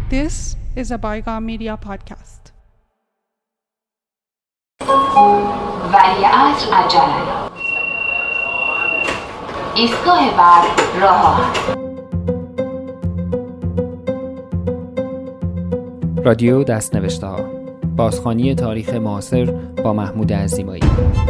This is a Bygone Media podcast. ولیعصر عجله ایستگاه بعد راه آهن. رادیو دست‌نوشته‌ها، بازخوانی تاریخ معاصر با محمود عزیمایی.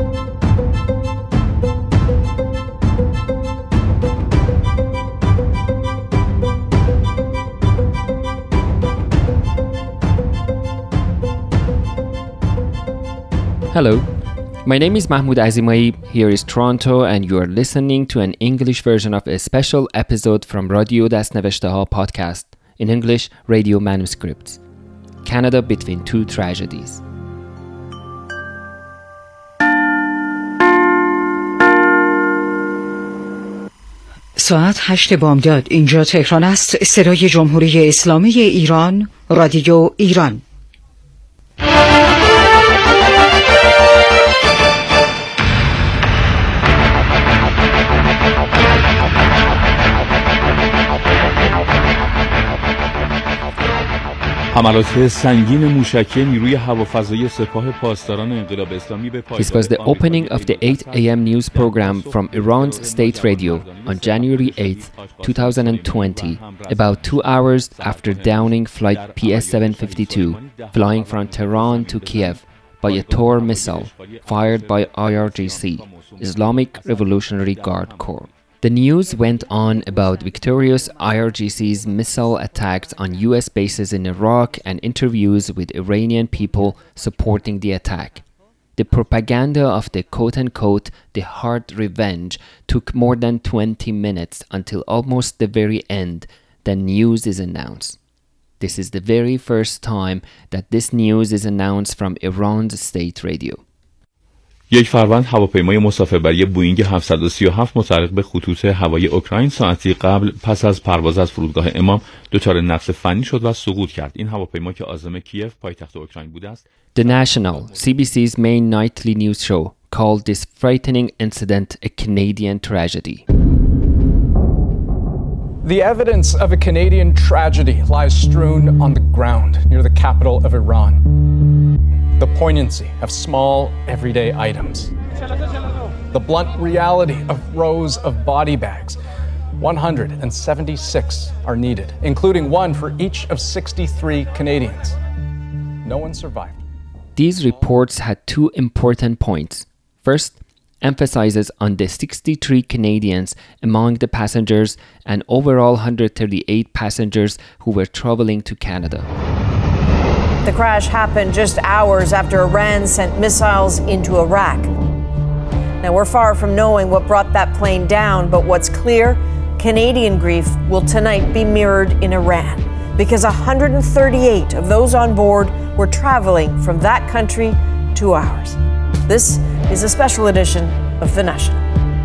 Hello, my name is Mahmoud Azimai. Here is Toronto, and you are listening to an English version of a special episode from Radio دست‌نوشته‌ها podcast, in English Radio Manuscripts. Canada Between Two Tragedies. ساعت 8 بامداد. اینجا تهران است. صدای جمهوری اسلامی ایران، رادیو ایران. حملات سنگین موشکی نیروی هوافضایی سپاه پاسداران انقلاب اسلامی به This was the opening of the 8 a.m. news program from Iran's state radio on January 8, 2020, about 2 hours after downing flight PS-752, flying from Tehran to Kiev by a Tor missile fired by IRGC, Islamic Revolutionary Guard Corps. The news went on about victorious IRGC's missile attacks on US bases in Iraq and interviews with Iranian people supporting the attack. The propaganda of the quote-unquote the hard revenge took more than 20 minutes until almost the very end. The news is announced. This is the very first time that this news is announced from Iran's state radio. یک فروند هواپیمای مسافربری بوئینگ 737 متعلق به خطوط هوایی اوکراین ساعتی قبل پس از پرواز از فرودگاه امام دچار نقص فنی شد و سقوط کرد. این هواپیما که عاصمه کیف پایتخت اوکراین بوده است. The National, CBC's main nightly news show, called this frightening incident a Canadian tragedy. The evidence of a Canadian tragedy lies strewn on the ground near the capital of Iran. The poignancy of small, everyday items. The blunt reality of rows of body bags. 176 are needed, including one for each of 63 Canadians. No one survived. These reports had two important points. First, emphasizes on the 63 Canadians among the passengers and overall 138 passengers who were traveling to Canada. The crash happened just hours after Iran sent missiles into Iraq. Now, we're far from knowing what brought that plane down, but what's clear, Canadian grief will tonight be mirrored in Iran because 138 of those on board were traveling from that country to ours. This is a special edition of The National.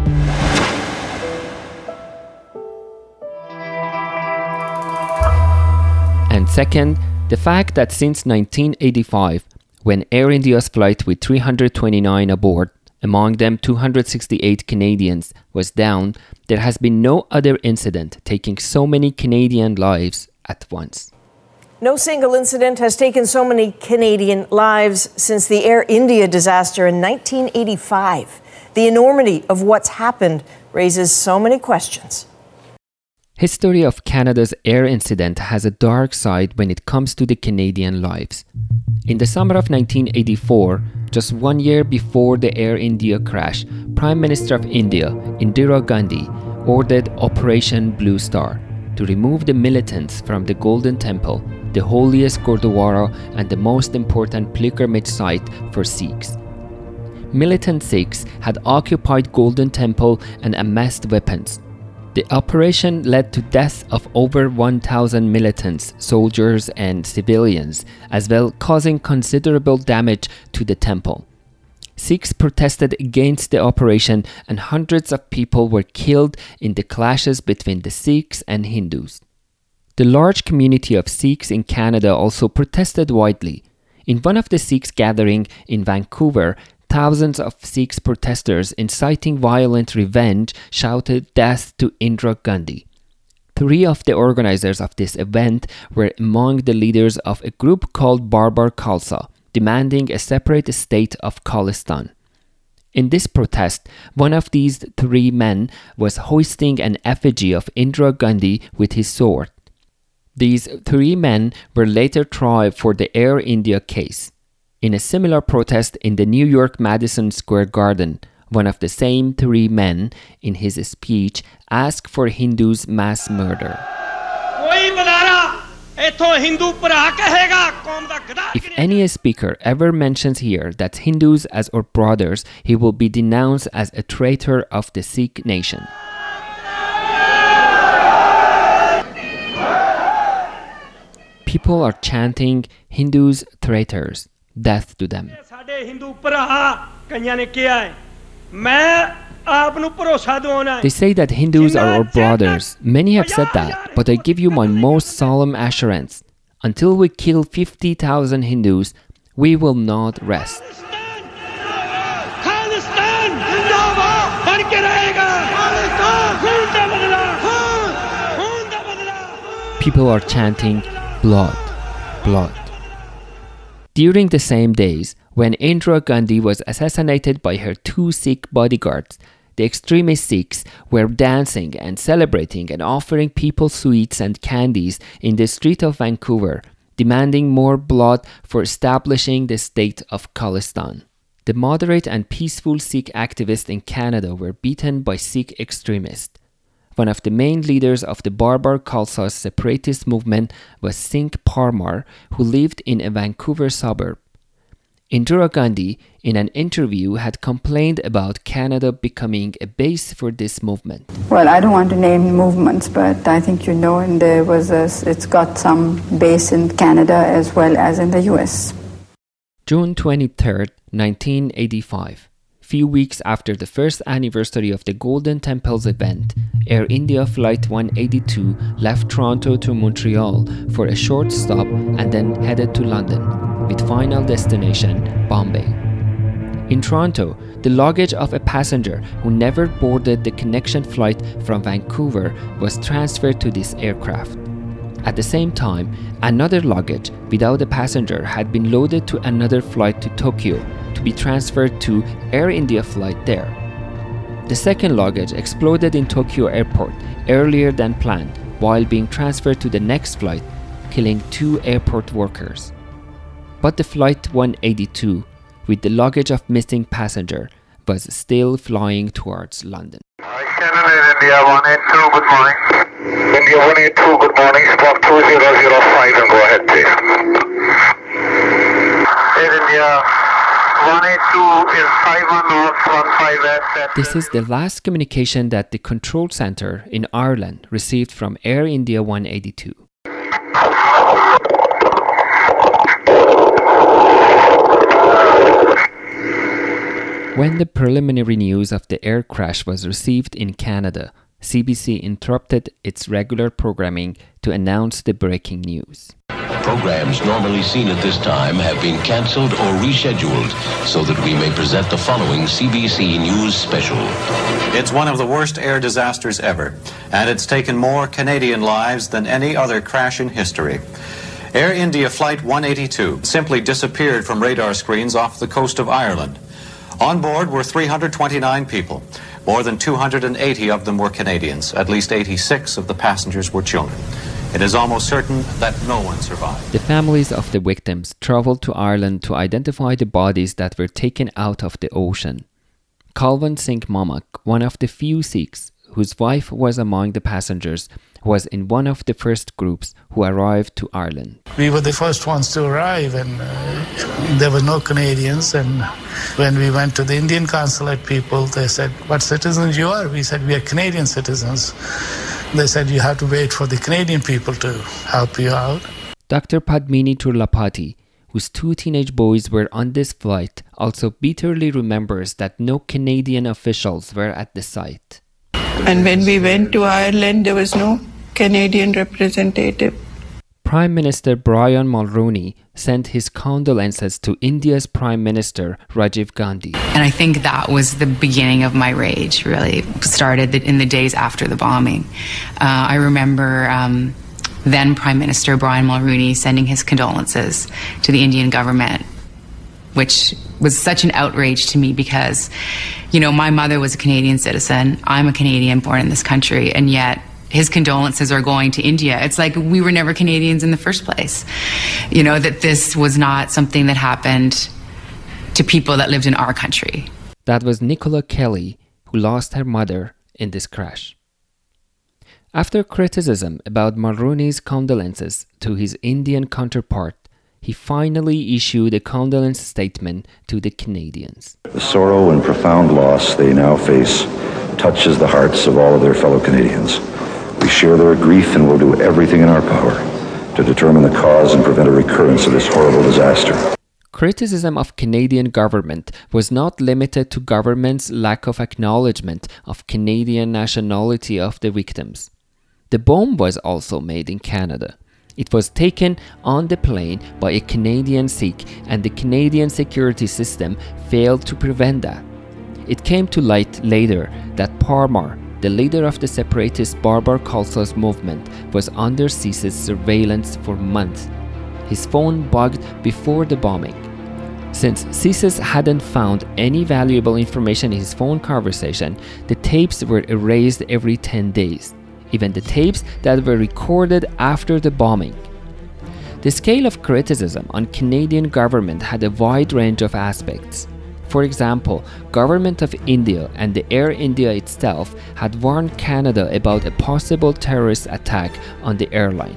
And second, the fact that since 1985, when Air India's flight with 329 aboard, among them 268 Canadians, was down, there has been no other incident taking so many Canadian lives at once. No single incident has taken so many Canadian lives since the Air India disaster in 1985. The enormity of what's happened raises so many questions. History of Canada's air incident has a dark side when it comes to the Canadian lives. In the summer of 1984, just 1 year before the Air India crash, Prime Minister of India, Indira Gandhi, ordered Operation Blue Star to remove the militants from the Golden Temple, the holiest Gurdwara and the most important pilgrimage site for Sikhs. Militant Sikhs had occupied Golden Temple and amassed weapons. The operation led to death of over 1,000 militants, soldiers and civilians, as well causing considerable damage to the temple. Sikhs protested against the operation and hundreds of people were killed in the clashes between the Sikhs and Hindus. The large community of Sikhs in Canada also protested widely. In one of the Sikhs gathering in Vancouver, thousands of Sikh protesters inciting violent revenge shouted death to Indira Gandhi. 3 of the organizers of this event were among the leaders of a group called Barbar Khalsa, demanding a separate state of Khalistan. In this protest, one of these 3 men was hoisting an effigy of Indira Gandhi with his sword. These 3 men were later tried for the Air India case. In a similar protest in the New York Madison Square Garden, one of the same 3 men, in his speech, asked for Hindus' mass murder. If any speaker ever mentions here that Hindus as our brothers, he will be denounced as a traitor of the Sikh nation. People are chanting, Hindus traitors, death to them. They say that Hindus are our brothers. Many have said that, but I give you my most solemn assurance. Until we kill 50,000 Hindus, we will not rest. People are chanting, blood, blood. During the same days, when Indira Gandhi was assassinated by her 2 Sikh bodyguards, the extremist Sikhs were dancing and celebrating and offering people sweets and candies in the street of Vancouver, demanding more blood for establishing the state of Khalistan. The moderate and peaceful Sikh activists in Canada were beaten by Sikh extremists. One of the main leaders of the Barbar Khalsa separatist movement was Singh Parmar, who lived in a Vancouver suburb. Indira Gandhi, in an interview, had complained about Canada becoming a base for this movement. Well, I don't want to name movements, but I think you know, and it's got some base in Canada as well as in the US. June 23, 1985. Few weeks after the first anniversary of the Golden Temples event, Air India Flight 182 left Toronto to Montreal for a short stop and then headed to London, with final destination Bombay. In Toronto, the luggage of a passenger who never boarded the connection flight from Vancouver was transferred to this aircraft. At the same time, another luggage without a passenger had been loaded to another flight to Tokyo to be transferred to Air India flight there. The second luggage exploded in Tokyo airport earlier than planned while being transferred to the next flight, killing 2 airport workers. But the flight 182, with the luggage of missing passenger, was still flying towards London. India 182, good morning. India 182, good morning. Squawk 2005 and go ahead, please. Air India 182 is 51015S. This is the last communication that the control center in Ireland received from Air India 182. When the preliminary news of the air crash was received in Canada, CBC interrupted its regular programming to announce the breaking news. Programs normally seen at this time have been cancelled or rescheduled so that we may present the following CBC News special. It's one of the worst air disasters ever, and it's taken more Canadian lives than any other crash in history. Air India Flight 182 simply disappeared from radar screens off the coast of Ireland. On board were 329 people. More than 280 of them were Canadians. At least 86 of the passengers were children. It is almost certain that no one survived. The families of the victims traveled to Ireland to identify the bodies that were taken out of the ocean. Kalwan Singh Mamak, one of the few Sikhs whose wife was among the passengers, was in one of the first groups who arrived to Ireland. We were the first ones to arrive, and there were no Canadians. And when we went to the Indian consulate people, they said, "What citizens you are?" We said, "We are Canadian citizens." They said, "You have to wait for the Canadian people to help you out." Dr. Padmini Turlapati, whose 2 teenage boys were on this flight, also bitterly remembers that no Canadian officials were at the site. And when we went to Ireland, there was no Canadian representative. Prime Minister Brian Mulroney sent his condolences to India's Prime Minister Rajiv Gandhi. And I think that was the beginning of my rage, really. It started in the days after the bombing. I remember then Prime Minister Brian Mulroney sending his condolences to the Indian government, which was such an outrage to me because, you know, my mother was a Canadian citizen. I'm a Canadian born in this country, and yet his condolences are going to India. It's like we were never Canadians in the first place. You know, that this was not something that happened to people that lived in our country. That was Nicola Kelly, who lost her mother in this crash. After criticism about Mulroney's condolences to his Indian counterpart, he finally issued a condolence statement to the Canadians. The sorrow and profound loss they now face touches the hearts of all of their fellow Canadians. We share their grief and will do everything in our power to determine the cause and prevent a recurrence of this horrible disaster. Criticism of Canadian government was not limited to government's lack of acknowledgement of Canadian nationality of the victims. The bomb was also made in Canada. It was taken on the plane by a Canadian Sikh, and the Canadian security system failed to prevent that. It came to light later that Parmar, the leader of the separatist Barbar Khalsa's movement, was under CIS's surveillance for months. His phone bugged before the bombing. Since CISIS hadn't found any valuable information in his phone conversation, the tapes were erased every 10 days, even the tapes that were recorded after the bombing. The scale of criticism on Canadian government had a wide range of aspects. For example, Government of India and the Air India itself had warned Canada about a possible terrorist attack on the airline.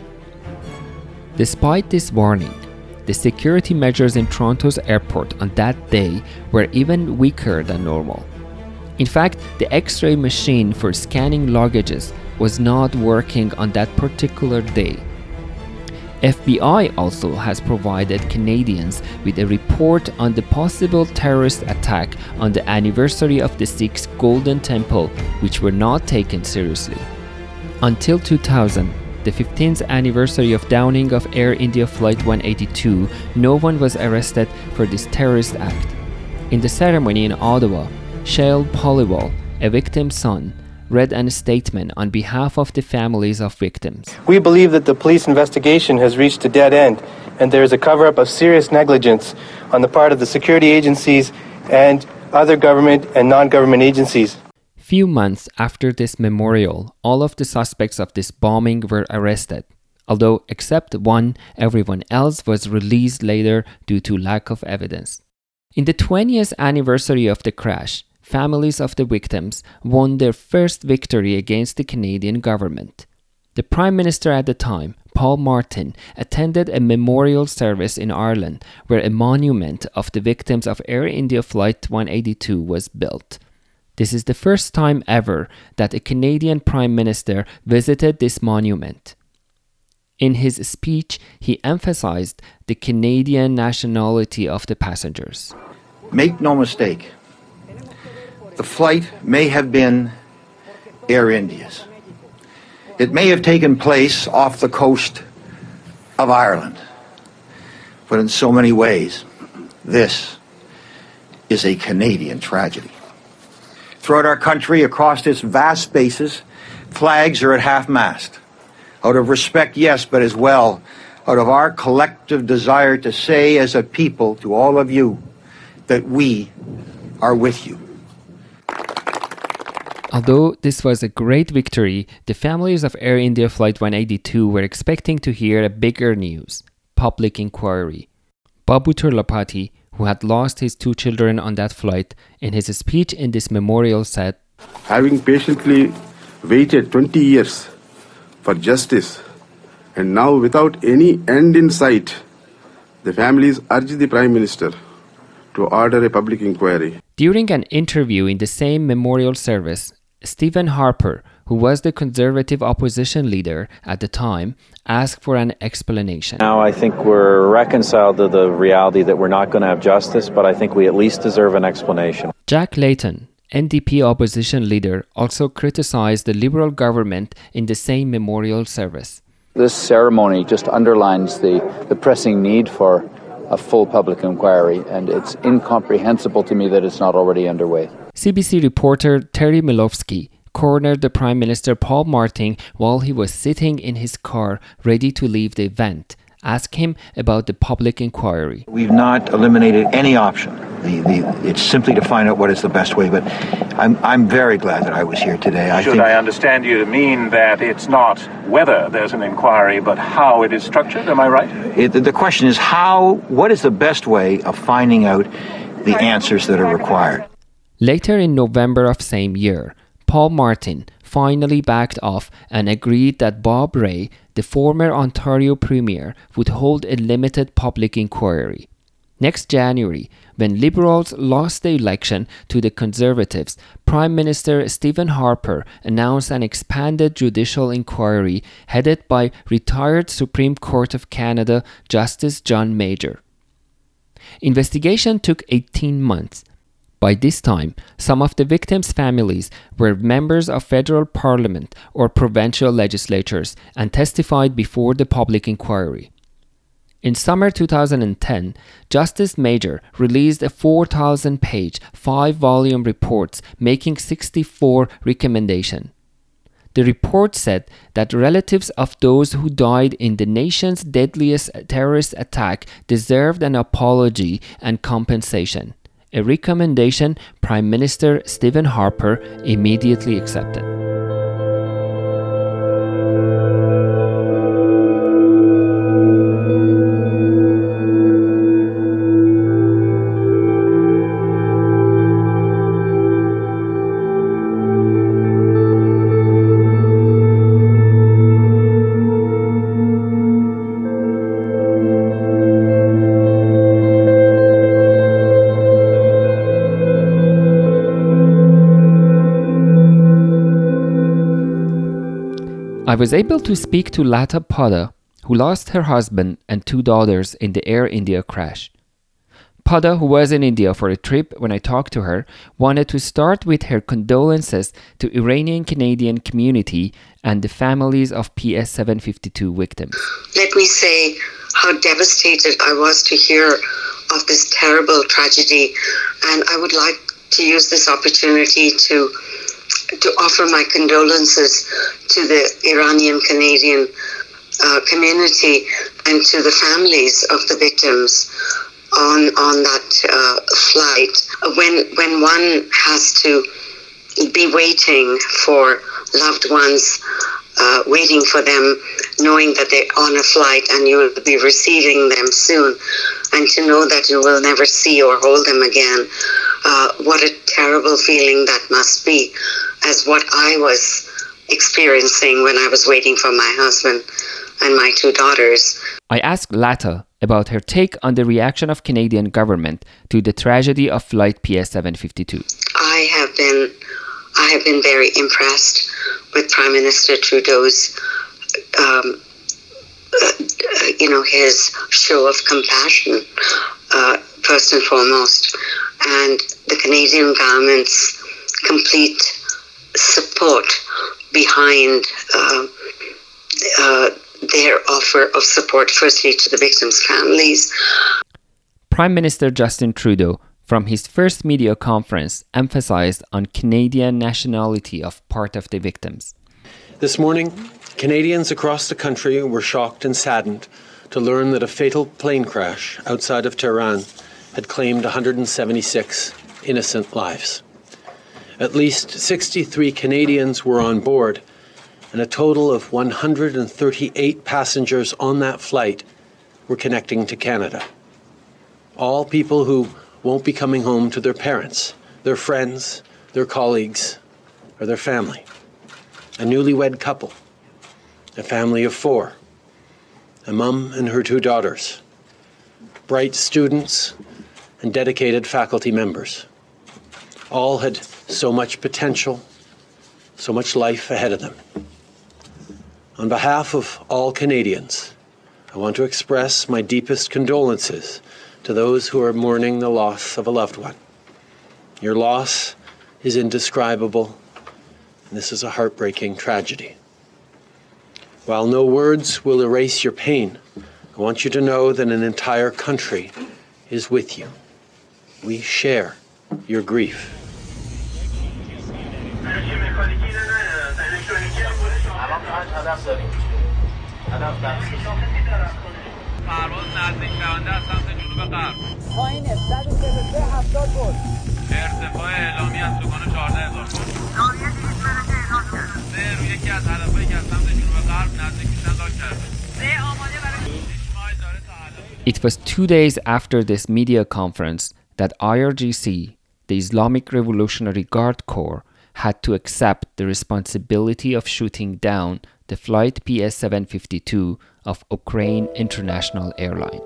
Despite this warning, the security measures in Toronto's airport on that day were even weaker than normal. In fact, the X-ray machine for scanning luggages was not working on that particular day. FBI also has provided Canadians with a report on the possible terrorist attack on the anniversary of the Sikhs' Golden Temple, which were not taken seriously. Until 2000, the 15th anniversary of downing of Air India Flight 182, no one was arrested for this terrorist act. In the ceremony in Ottawa, Shail Poliwal, a victim's son, read a statement on behalf of the families of victims. We believe that the police investigation has reached a dead end, and there is a cover-up of serious negligence on the part of the security agencies and other government and non-government agencies. Few months after this memorial, all of the suspects of this bombing were arrested, although except one, everyone else was released later due to lack of evidence. In the 20th anniversary of the crash, families of the victims won their first victory against the Canadian government. The Prime Minister at the time, Paul Martin, attended a memorial service in Ireland where a monument of the victims of Air India Flight 182 was built. This is the first time ever that a Canadian Prime Minister visited this monument. In his speech, he emphasized the Canadian nationality of the passengers. Make no mistake, the flight may have been Air India's. It may have taken place off the coast of Ireland. But in so many ways, this is a Canadian tragedy. Throughout our country, across its vast spaces, flags are at half-mast. Out of respect, yes, but as well, out of our collective desire to say as a people to all of you that we are with you. Although this was a great victory, the families of Air India Flight 182 were expecting to hear a bigger news: public inquiry. Babu Turlapati, who had lost his 2 children on that flight, in his speech in this memorial said, "Having patiently waited 20 years for justice, and now without any end in sight, the families urge the Prime Minister to order a public inquiry." During an interview in the same memorial service, Stephen Harper, who was the Conservative opposition leader at the time, asked for an explanation. Now I think we're reconciled to the reality that we're not going to have justice, but I think we at least deserve an explanation. Jack Layton, NDP opposition leader, also criticized the Liberal government in the same memorial service. This ceremony just underlines the pressing need for a full public inquiry, and it's incomprehensible to me that it's not already underway. CBC reporter Terry Milowski cornered the Prime Minister Paul Martin while he was sitting in his car ready to leave the event. Ask him about the public inquiry. We've not eliminated any option. It's simply to find out what is the best way, but I'm very glad that I was here today. I understand you to mean that it's not whether there's an inquiry, but how it is structured? Am I right? The question is what is the best way of finding out the answers that are required? Later in November of same year, Paul Martin finally backed off and agreed that Bob Rae, the former Ontario Premier, would hold a limited public inquiry. Next January, when Liberals lost the election to the Conservatives, Prime Minister Stephen Harper announced an expanded judicial inquiry headed by retired Supreme Court of Canada Justice John Major. Investigation took 18 months. By this time, some of the victims' families were members of federal parliament or provincial legislatures and testified before the public inquiry. In summer 2010, Justice Major released a 4,000-page, 5-volume report making 64 recommendations. The report said that relatives of those who died in the nation's deadliest terrorist attack deserved an apology and compensation, a recommendation Prime Minister Stephen Harper immediately accepted. I was able to speak to Lata Pada, who lost her husband and 2 daughters in the Air India crash. Pada, who was in India for a trip when I talked to her, wanted to start with her condolences to Iranian Canadian community and the families of PS-752 victims. Let me say how devastated I was to hear of this terrible tragedy, and I would like to use this opportunity to offer my condolences to the Iranian Canadian community and to the families of the victims on that flight. When one has to be waiting for loved ones, waiting for them, knowing that they're on a flight and you will be receiving them soon, and to know that you will never see or hold them again, what a terrible feeling that must be, as what I was experiencing when I was waiting for my husband and my 2 daughters. I asked Lata about her take on the reaction of Canadian government to the tragedy of flight PS-752. I have been very impressed with Prime Minister Trudeau's his show of compassion, first and foremost, and the Canadian government's complete support behind their offer of support, firstly to the victims' families. Prime Minister Justin Trudeau, from his first media conference, emphasized on Canadian nationality of part of the victims. This morning, Canadians across the country were shocked and saddened to learn that a fatal plane crash outside of Tehran had claimed 176 innocent lives. At least 63 Canadians were on board, and a total of 138 passengers on that flight were connecting to Canada. All people who won't be coming home to their parents, their friends, their colleagues, or their family. A newlywed couple, a family of 4, a mum and her 2 daughters, bright students, and dedicated faculty members. All had so much potential, so much life ahead of them. On behalf of all Canadians, I want to express my deepest condolences to those who are mourning the loss of a loved one. Your loss is indescribable, and this is a heartbreaking tragedy. While no words will erase your pain, I want you to know that an entire country is with you. We share your grief. It was 2 days after this media conference that IRGC, the Islamic Revolutionary Guard Corps, had to accept the responsibility of shooting down the flight PS-752 of Ukraine International Airline.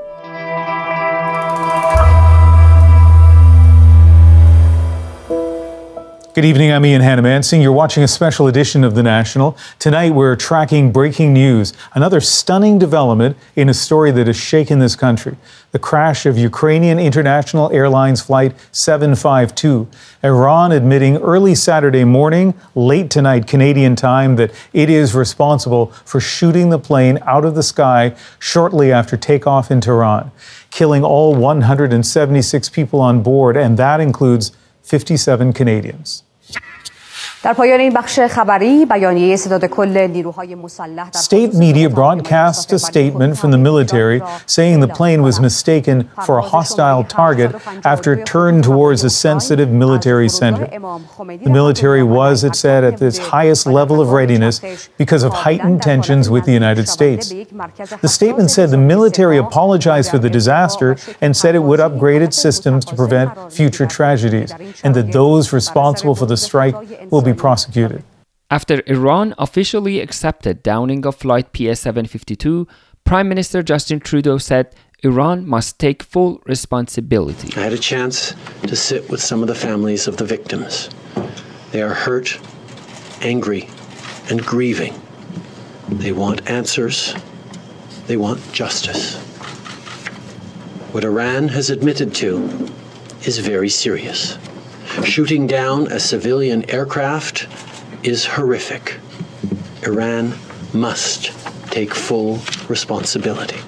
Good evening, I'm Ian Hannamansing. You're watching a special edition of The National. Tonight we're tracking breaking news, another stunning development in a story that has shaken this country. The crash of Ukrainian International Airlines Flight 752. Iran admitting early Saturday morning, late tonight Canadian time, that it is responsible for shooting the plane out of the sky shortly after takeoff in Tehran, killing all 176 people on board, and that includes 57 Canadians. در پایان این بخش خبری بیانیه ستاد کل نیروهای مسلح State media broadcast a statement from the military saying the plane was mistaken for a hostile target after it turned towards a sensitive military center. The military was, it said, at its highest level of readiness because of heightened tensions with the United States. The statement said the military apologized for the disaster and said it would upgrade its systems to prevent future tragedies, and that those responsible for the strike will be prosecuted. After Iran officially accepted downing of flight PS-752, Prime Minister Justin Trudeau said Iran must take full responsibility. I had a chance to sit with some of the families of the victims. They are hurt, angry, and grieving. They want answers. They want justice. What Iran has admitted to is very serious. Shooting down a civilian aircraft is horrific. Iran must take full responsibility.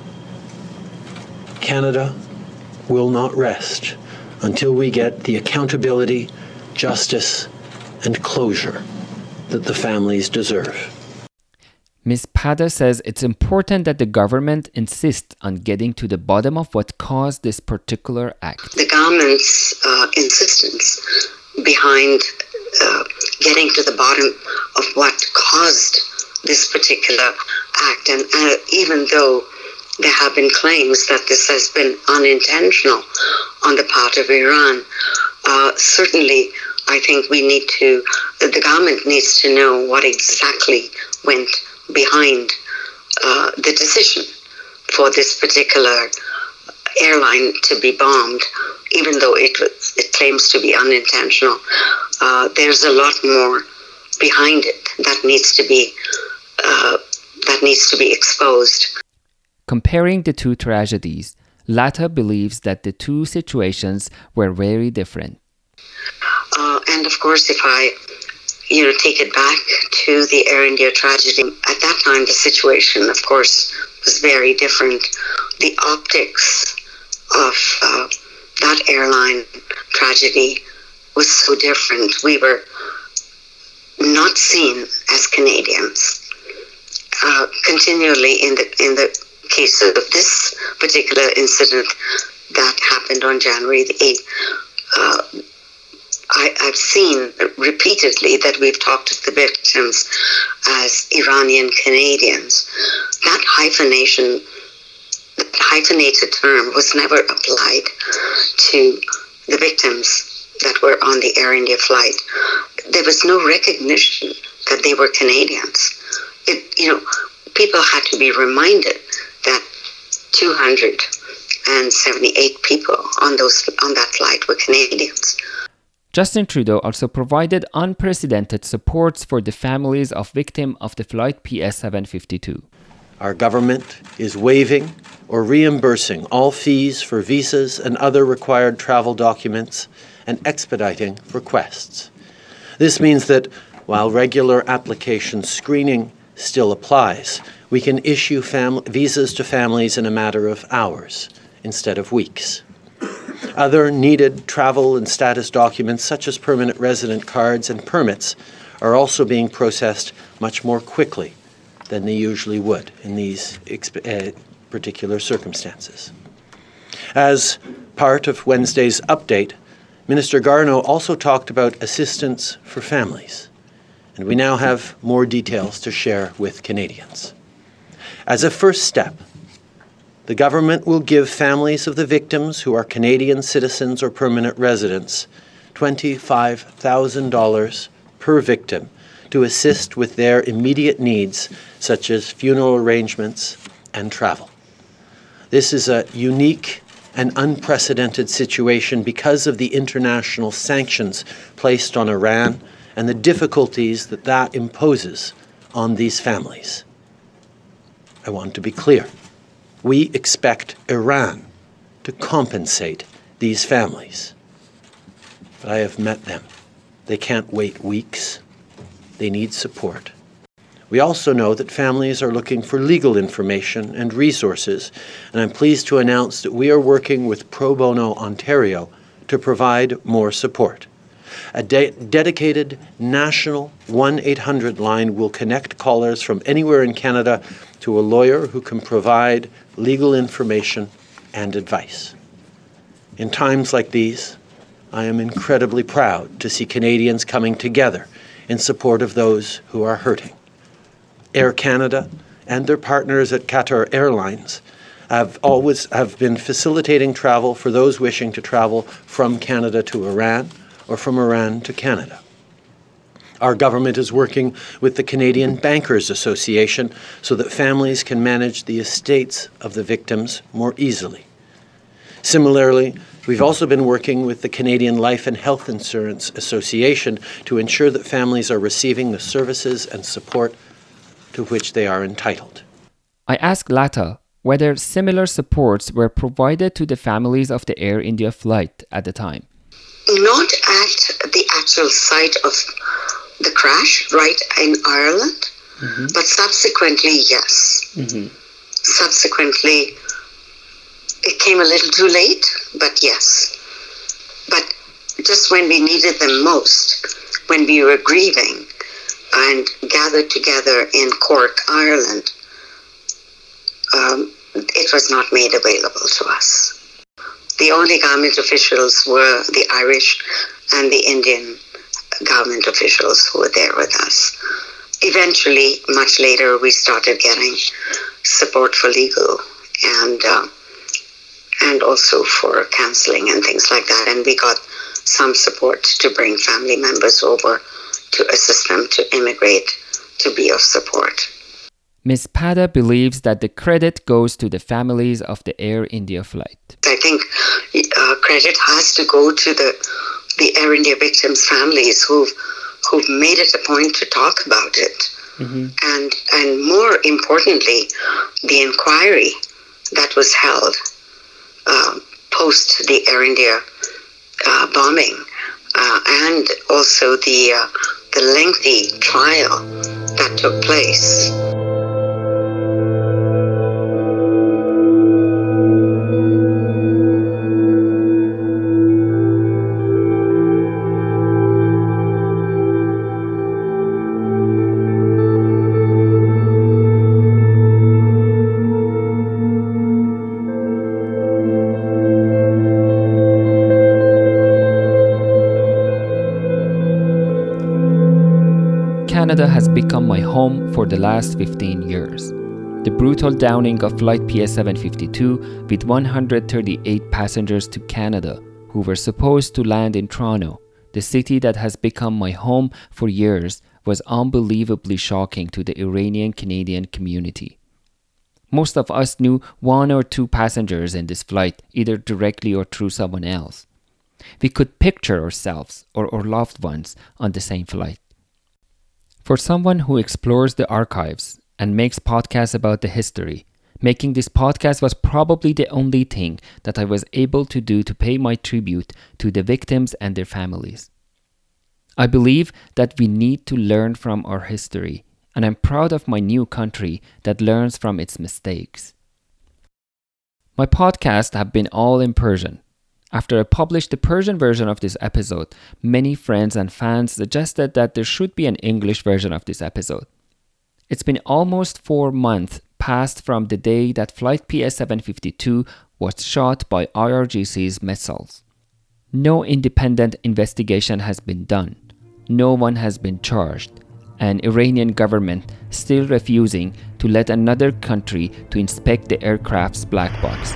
Canada will not rest until we get the accountability, justice, and closure that the families deserve. Ms. Pada says it's important that the government insists on getting to the bottom of what caused this particular act. The government's insistence behind getting to the bottom of what caused this particular act, and even though there have been claims that this has been unintentional on the part of Iran, certainly I think the government needs to know what exactly went behind the decision for this particular airline to be bombed, even though it claims to be unintentional. There's a lot more behind it that needs to be exposed. Comparing the two tragedies, Lata believes that the two situations were very different. And of course, if I take it back to the Air India tragedy, at that time the situation, of course, was very different. The optics of that airline tragedy was so different. We were not seen as Canadians. Continually in the case of this particular incident that happened on January the 8th, I've seen repeatedly that we've talked to the victims as Iranian Canadians. That hyphenated term was never applied to the victims that were on the Air India flight. There was no recognition that they were Canadians. People had to be reminded that 278 people on that flight were Canadians. Justin Trudeau also provided unprecedented supports for the families of victims of the flight PS-752. Our government is waiving or reimbursing all fees for visas and other required travel documents and expediting requests. This means that while regular application screening still applies. We can issue visas to families in a matter of hours instead of weeks. Other needed travel and status documents, such as permanent resident cards and permits, are also being processed much more quickly than they usually would in these particular circumstances. As part of Wednesday's update, Minister Garneau also talked about assistance for families, and we now have more details to share with Canadians. As a first step, the government will give families of the victims who are Canadian citizens or permanent residents $25,000 per victim to assist with their immediate needs, such as funeral arrangements and travel. This is a unique and unprecedented situation because of the international sanctions placed on Iran and the difficulties that imposes on these families. I want to be clear. We expect Iran to compensate these families. But I have met them. They can't wait weeks. They need support. We also know that families are looking for legal information and resources, and I'm pleased to announce that we are working with Pro Bono Ontario to provide more support. A dedicated national 1-800 line will connect callers from anywhere in Canada to a lawyer who can provide legal information and advice. In times like these, I am incredibly proud to see Canadians coming together in support of those who are hurting. Air Canada and their partners at Qatar Airlines have been facilitating travel for those wishing to travel from Canada to Iran or from Iran to Canada. Our government is working with the Canadian Bankers Association so that families can manage the estates of the victims more easily. Similarly, we've also been working with the Canadian Life and Health Insurance Association to ensure that families are receiving the services and support to which they are entitled. I asked Lata whether similar supports were provided to the families of the Air India flight at the time. Not at the actual site of the crash, right in Ireland, but subsequently, yes. Subsequently, it came a little too late, but yes. But just when we needed them most, when we were grieving and gathered together in Cork, Ireland, it was not made available to us. The only government officials were the Irish and the Indian government officials who were there with us. Eventually, much later, we started getting support for legal and also for counseling and things like that. And we got some support to bring family members over to assist them to immigrate, to be of support. Ms. Pada believes that the credit goes to the families of the Air India flight. I think credit has to go to the Air India victims' families who've made it a point to talk about it. And more importantly, the inquiry that was held post the Air India bombing, and also the lengthy trial that took place. Canada has become my home for the last 15 years. The brutal downing of Flight PS752 with 138 passengers to Canada who were supposed to land in Toronto, the city that has become my home for years, was unbelievably shocking to the Iranian-Canadian community. Most of us knew one or two passengers in this flight, either directly or through someone else. We could picture ourselves or our loved ones on the same flight. For someone who explores the archives and makes podcasts about the history, making this podcast was probably the only thing that I was able to do to pay my tribute to the victims and their families. I believe that we need to learn from our history and I'm proud of my new country that learns from its mistakes. My podcasts have been all in Persian. After I published the Persian version of this episode, many friends and fans suggested that there should be an English version of this episode. It's been almost 4 months past from the day that Flight PS752 was shot by IRGC's missiles. No independent investigation has been done. No one has been charged. And Iranian government still refusing to let another country to inspect the aircraft's black box.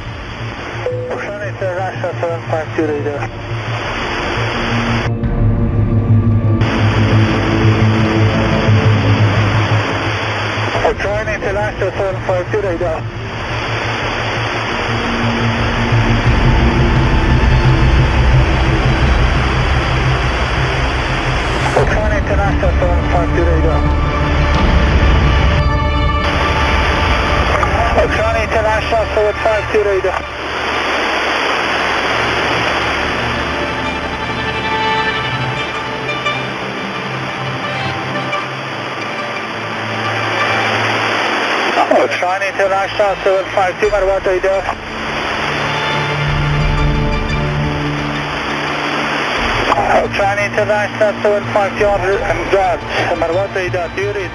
International 752, Marwat Radar. China International 752 and guard, Marwat Radar, do you read?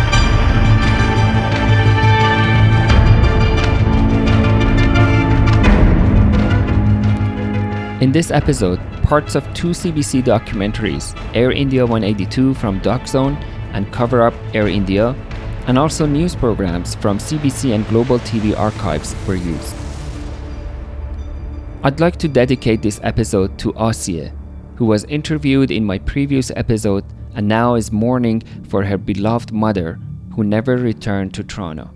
In this episode, parts of 2 CBC documentaries, Air India 182 from Doc Zone and Cover Up Air India, and also news programs from CBC and Global TV archives were used. I'd like to dedicate this episode to Asiye, who was interviewed in my previous episode and now is mourning for her beloved mother, who never returned to Toronto.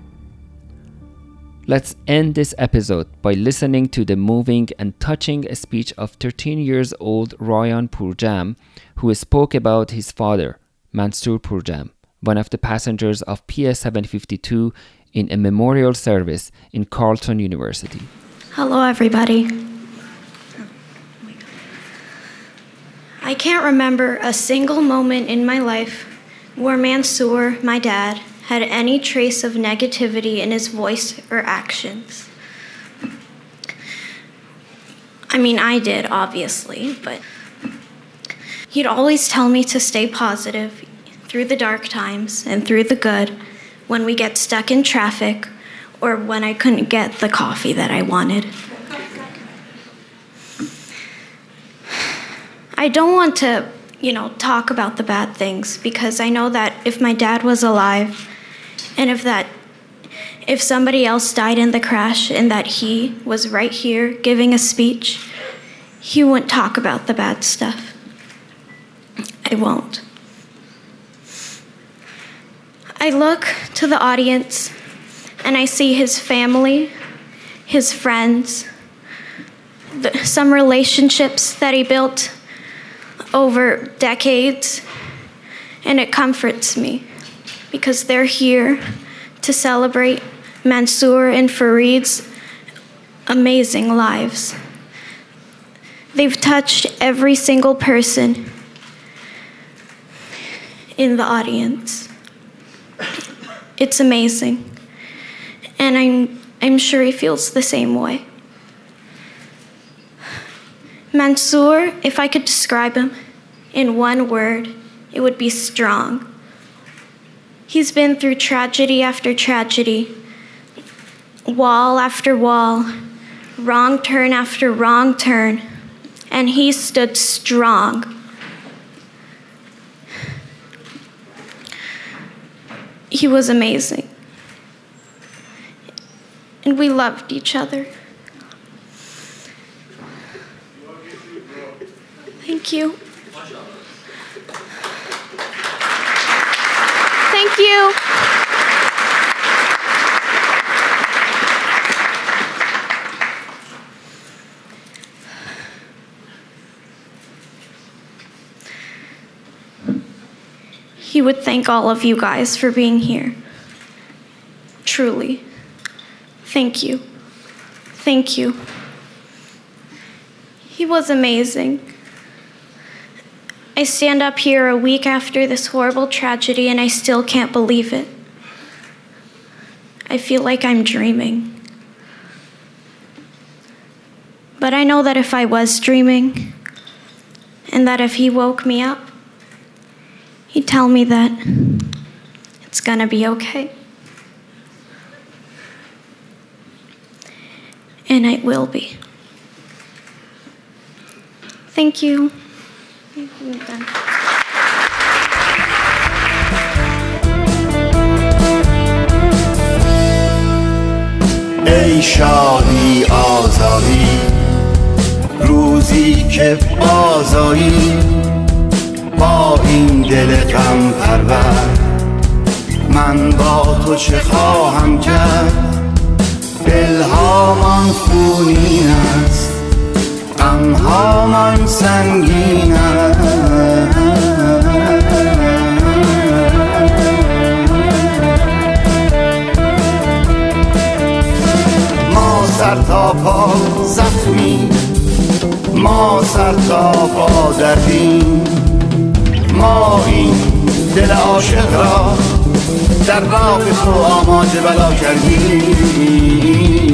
Let's end this episode by listening to the moving and touching speech of 13 years old Rayan Purjam, who spoke about his father, Mansoor Purjam, one of the passengers of PS752 in a memorial service in Carleton University. Hello, everybody. I can't remember a single moment in my life where Mansoor, my dad, had any trace of negativity in his voice or actions. I mean, I did, obviously, but he'd always tell me to stay positive through the dark times and through the good, when we get stuck in traffic or when I couldn't get the coffee that I wanted. I don't want to, talk about the bad things, because I know that if my dad was alive and if somebody else died in the crash and that he was right here giving a speech, he wouldn't talk about the bad stuff. I won't. I look to the audience and I see his family, his friends, some relationships that he built over decades, and it comforts me because they're here to celebrate Mansoor and Fareed's amazing lives. They've touched every single person in the audience. It's amazing. And I'm sure he feels the same way. Mansoor, if I could describe him in one word, it would be strong. He's been through tragedy after tragedy, wall after wall, wrong turn after wrong turn, and he stood strong. He was amazing. And we loved each other. Thank you. Thank you. He would thank all of you guys for being here. Truly. Thank you. Thank you. He was amazing. I stand up here a week after this horrible tragedy and I still can't believe it. I feel like I'm dreaming. But I know that if I was dreaming, and that if he woke me up, he'd tell me that it's gonna be okay. And it will be. Thank you. ای شادی آزادی روزی که بازایی با این دل غم پرور من با تو چه خواهم کرد دلهامان خونین است غمهامان سنگین است ما سر تا پا زخمی ما سر تا پا دردیم ما این دل عاشق را در راه تو آماده بلا کردیم